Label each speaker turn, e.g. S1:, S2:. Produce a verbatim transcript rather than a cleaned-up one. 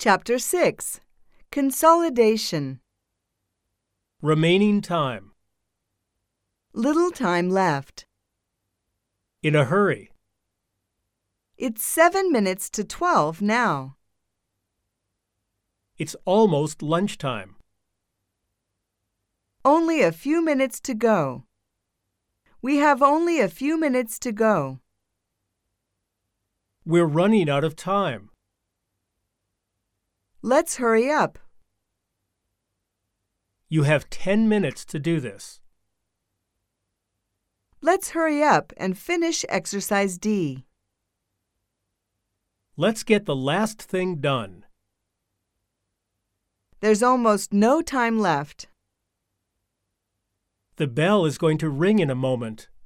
S1: Chapter six. Consolidation.
S2: Remaining time.
S1: Little time left.
S2: In a hurry.
S1: It's seven minutes to twelve now.
S2: It's almost lunchtime.
S1: Only a few minutes to go. We have only a few minutes to go.
S2: We're running out of time.
S1: Let's hurry up.
S2: You have ten minutes to do this.
S1: Let's hurry up and finish exercise D.
S2: Let's get the last thing done.
S1: There's almost no time left.
S2: The bell is going to ring in a moment.